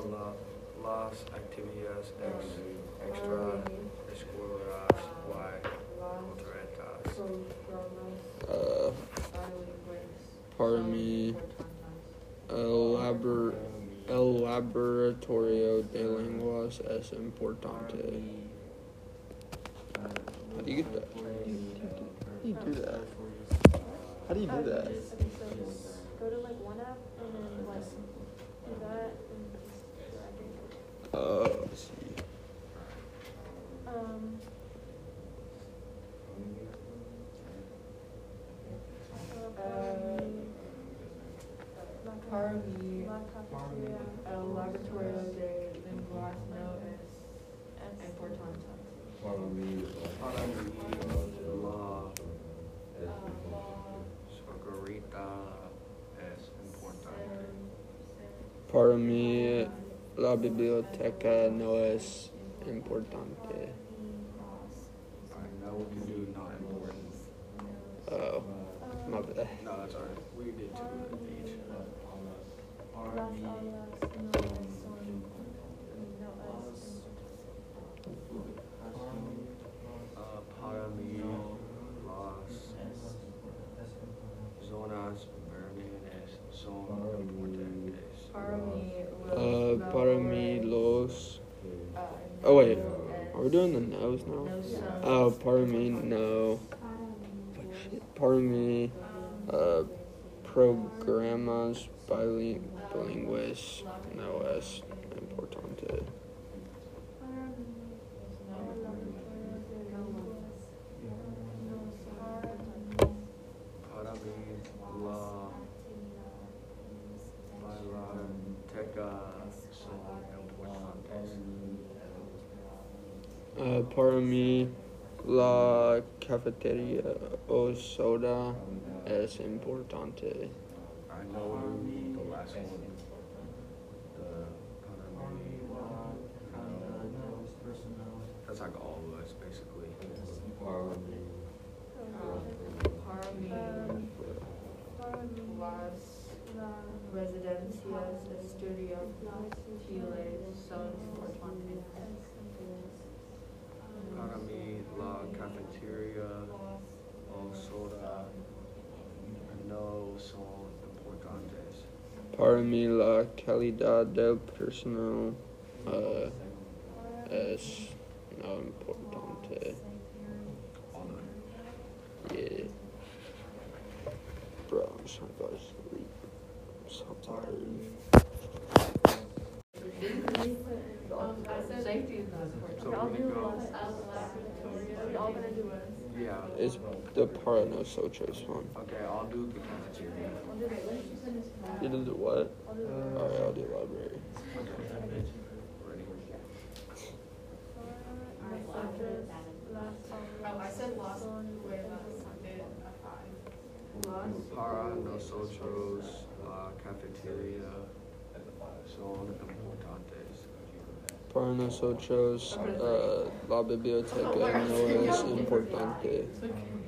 las actividades extraescolares y culturales. Pardon me. El laboratorio de lenguas es importante. How do you get that? How do you do that? How do you do that? Okay, so go to like one app and then like do that and just drag it. Let's see. Para mí, el laboratorio de lenguas no es importante. Para mí, la Sorgarita es importante. Para mí, la biblioteca no es importante. I know we can do not important. Oh, my bad. No, that's alright. We did two of each. Para mí, las zonas verdes son importantes. Para mí, los. Oh, wait. Are we doing the no's now? Oh, para mí, no. Para mí, programas bilingües no es importante. Para mí, la biblioteca son importantes. Para mí, la cafetería o soda es importante. I know the last one. Para mí, that's like all of us, basically. Para mí, las residencias estudiantiles son importantes. Para mí, la cafetería o soda no son importantes. Para mí, la calidad del personal es no importante. Yeah. Bro, I'm just trying to go to sleep. I'm so tired. Safety is not important. So I'll we're do gonna go. we all gonna do it. Yeah. It's the para nosotros one. Okay, I'll do the cafeteria. I'll do it. Let's just finish. You did the what? I'll do it. Alright, I'll do library. I said lost. Para nosotros, la cafetería son importantes. Para nosotros, la biblioteca no es importante.